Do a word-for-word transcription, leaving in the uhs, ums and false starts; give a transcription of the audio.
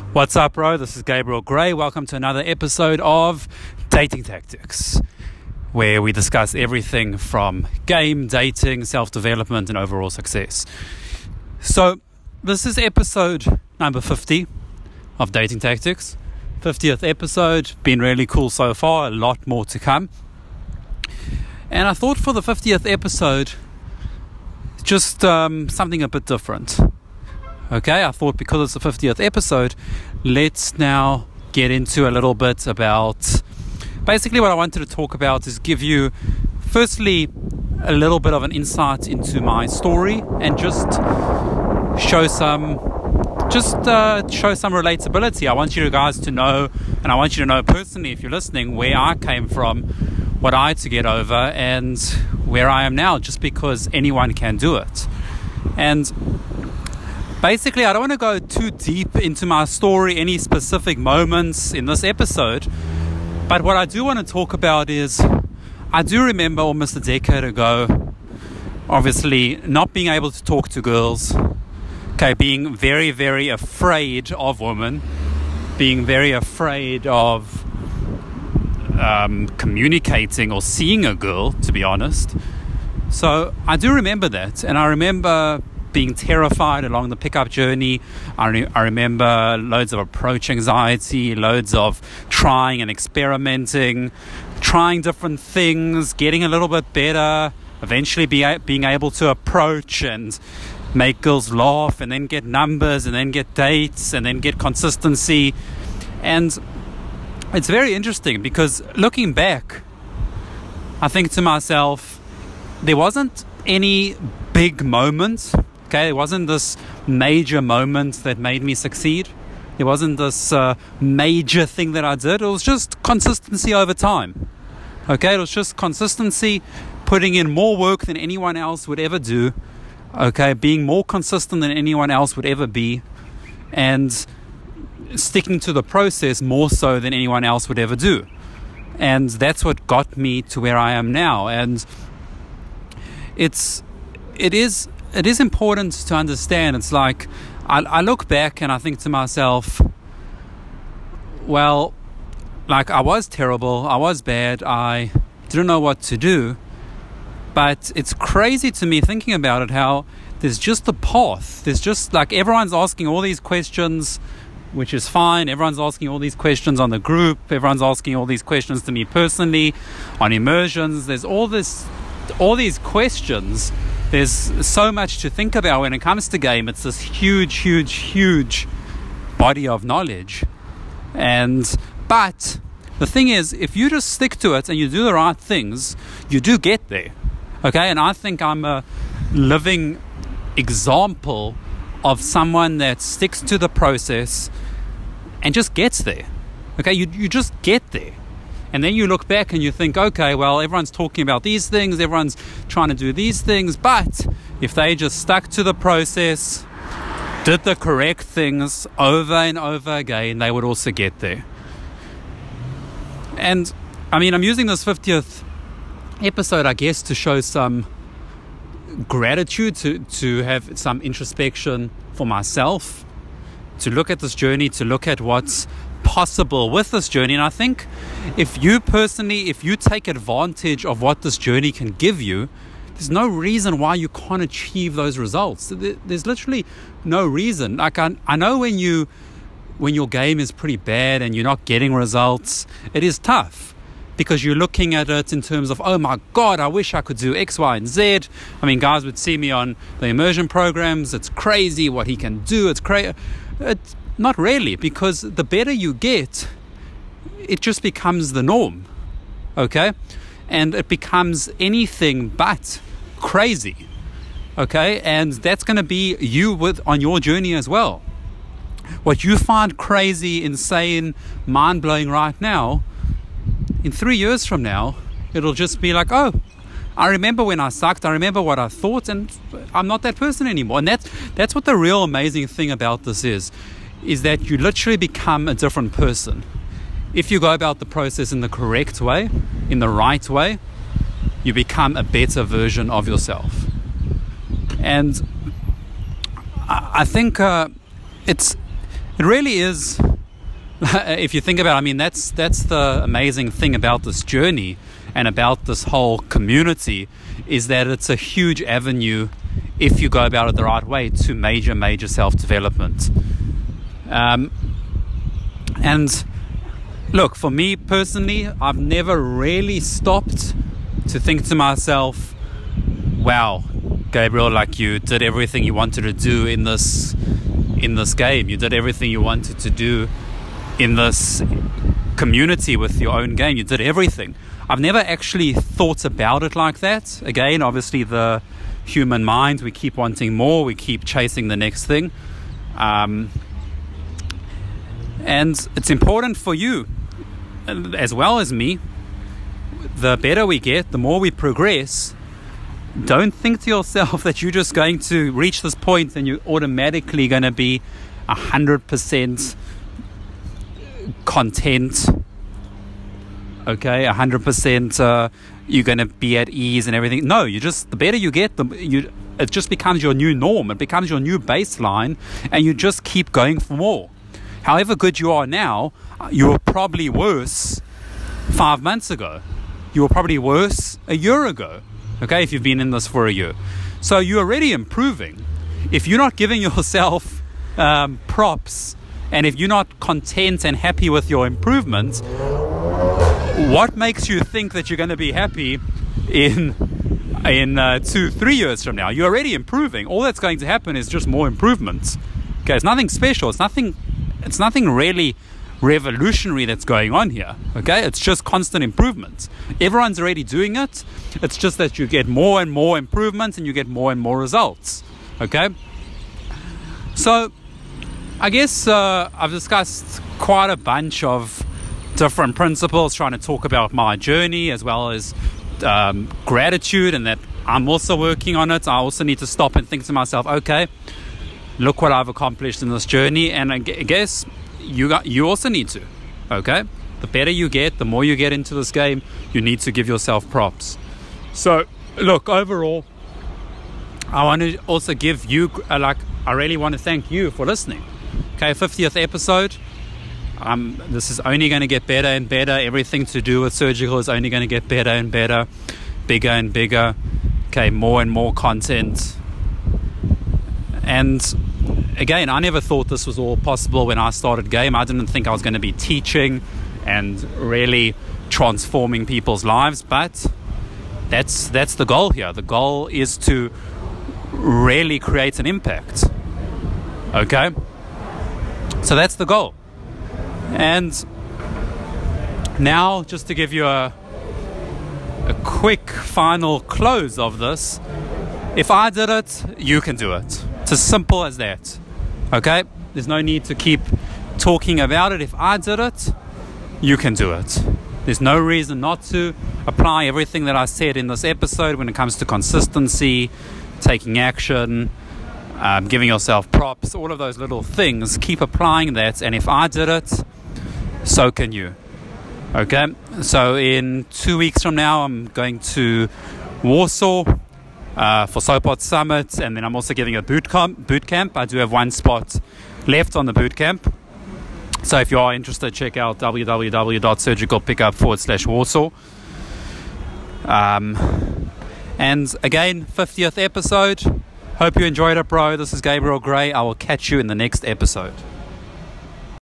What's up, bro? This is Gabriel Gray. Welcome to another episode of Dating Tactics, where we discuss everything from game, dating, self-development, and overall success. So, this is episode number fifty of Dating Tactics. fiftieth episode, been really cool so far, a lot more to come. And I thought for the fiftieth episode, just um, something a bit different. Okay, I thought because it's the fiftieth episode, let's now get into a little bit about, basically what I wanted to talk about is give you, firstly, a little bit of an insight into my story and just show some, just uh, show some relatability. I want you guys to know, and I want you to know personally, if you're listening, where I came from, what I had to get over, and where I am now, just because anyone can do it. And basically, I don't want to go too deep into my story, any specific moments in this episode, but what I do want to talk about is, I do remember almost a decade ago, obviously, not being able to talk to girls, okay, being very, very afraid of women, being very afraid of um, communicating or seeing a girl, to be honest. So I do remember that, and I remember being terrified along the pickup journey. I, re- I remember loads of approach anxiety, loads of trying and experimenting, trying different things, getting a little bit better, eventually be a- being able to approach and make girls laugh, and then get numbers, and then get dates, and then get consistency. And it's very interesting because looking back, I think to myself, there wasn't any big moment. Okay, it wasn't this major moment that made me succeed. It wasn't this uh, major thing that I did. It was just consistency over time. Okay, it was just consistency, putting in more work than anyone else would ever do. Okay, being more consistent than anyone else would ever be, and sticking to the process more so than anyone else would ever do. And that's what got me to where I am now. And it's, it is... It is important to understand. It's like I, I look back and I think to myself, well, like I was terrible, I was bad, I didn't know what to do. But it's crazy to me thinking about it, how there's just a path. There's just like everyone's asking all these questions, which is fine. Everyone's asking all these questions on the group. Everyone's asking all these questions to me personally on immersions. There's all this, all these questions. There's so much to think about when it comes to game. It's this huge, huge, huge body of knowledge. And, but the thing is, if you just stick to it and you do the right things, you do get there. Okay. And I think I'm a living example of someone that sticks to the process and just gets there. Okay. You, you just get there. And then you look back and you think, okay, well, everyone's talking about these things, everyone's trying to do these things, but if they just stuck to the process, did the correct things over and over again, they would also get there. And, I mean, I'm using this fiftieth episode, I guess, to show some gratitude, to, to have some introspection for myself, to look at this journey, to look at what's possible with this journey. And I think if you personally, if you take advantage of what this journey can give you, there's no reason why you can't achieve those results. There's literally no reason. Like I, I know when you, when your game is pretty bad and you're not getting results, it is tough because you're looking at it in terms of, oh my God, I wish I could do X, Y, and Z. I mean, guys would see me on the immersion programs. It's crazy what he can do. It's crazy. It's Not really, because the better you get, it just becomes the norm, okay? And it becomes anything but crazy, okay? And that's going to be you with on your journey as well. What you find crazy, insane, mind-blowing right now, in three years from now, it'll just be like, oh, I remember when I sucked, I remember what I thought, and I'm not that person anymore. And that's, that's what the real amazing thing about this is. is that you literally become a different person. If you go about the process in the correct way, in the right way, you become a better version of yourself. And I think uh, it's it really is. If you think about it, I mean, that's that's the amazing thing about this journey and about this whole community, is that it's a huge avenue, if you go about it the right way, to major, major self-development. Um, and look, for me personally, I've never really stopped to think to myself, wow, Gabriel, like, you did everything you wanted to do in this in this game. You did everything you wanted to do in this community with your own game. You did everything. I've never actually thought about it like that. Again, obviously the human mind, we keep wanting more, we keep chasing the next thing. Um, and it's important for you, as well as me, the better we get, the more we progress. Don't think to yourself that you're just going to reach this point and you're automatically going to be one hundred percent content, okay, one hundred percent uh, you're going to be at ease and everything. No, you just, the better you get, the you it just becomes your new norm. It becomes your new baseline, and you just keep going for more. However good you are now, you were probably worse five months ago. You were probably worse a year ago, okay, if you've been in this for a year. So you're already improving. If you're not giving yourself um, props, and if you're not content and happy with your improvement, what makes you think that you're going to be happy in in uh, two, three years from now? You're already improving. All that's going to happen is just more improvements. Okay, it's nothing special. It's nothing. It's nothing really revolutionary that's going on here. Okay, it's just constant improvement. Everyone's already doing it. It's just that you get more and more improvements, and you get more and more results. Okay, so I guess uh, I've discussed quite a bunch of different principles, trying to talk about my journey as well as um, gratitude, and that I'm also working on it. I also need to stop and think to myself, okay, look what I've accomplished in this journey. And I guess you got, you also need to, okay? The better you get, the more you get into this game, you need to give yourself props. So look, overall, I want to also give you, uh, like, I really want to thank you for listening. Okay, fiftieth episode. Um, this is only going to get better and better. Everything to do with surgical is only going to get better and better, bigger and bigger. Okay, more and more content. And again, I never thought this was all possible when I started game. I didn't think I was going to be teaching and really transforming people's lives, but that's that's the goal here. The goal is to really create an impact. Okay? So that's the goal. And now, just to give you a a quick final close of this, if I did it, you can do it. It's as simple as that. Okay? There's no need to keep talking about it. If I did it, you can do it. There's no reason not to. Apply everything that I said in this episode when it comes to consistency, taking action, um, giving yourself props, all of those little things. Keep applying that, and if I did it, so can you. Okay? So in two weeks from now, I'm going to Warsaw uh, for Sopot Summit, and then I'm also giving a boot camp. Boot camp. I do have one spot left on the boot camp. So if you are interested, check out www.surgicalpickup forward slash Warsaw. Um, and again, fiftieth episode. Hope you enjoyed it, bro. This is Gabriel Gray. I will catch you in the next episode.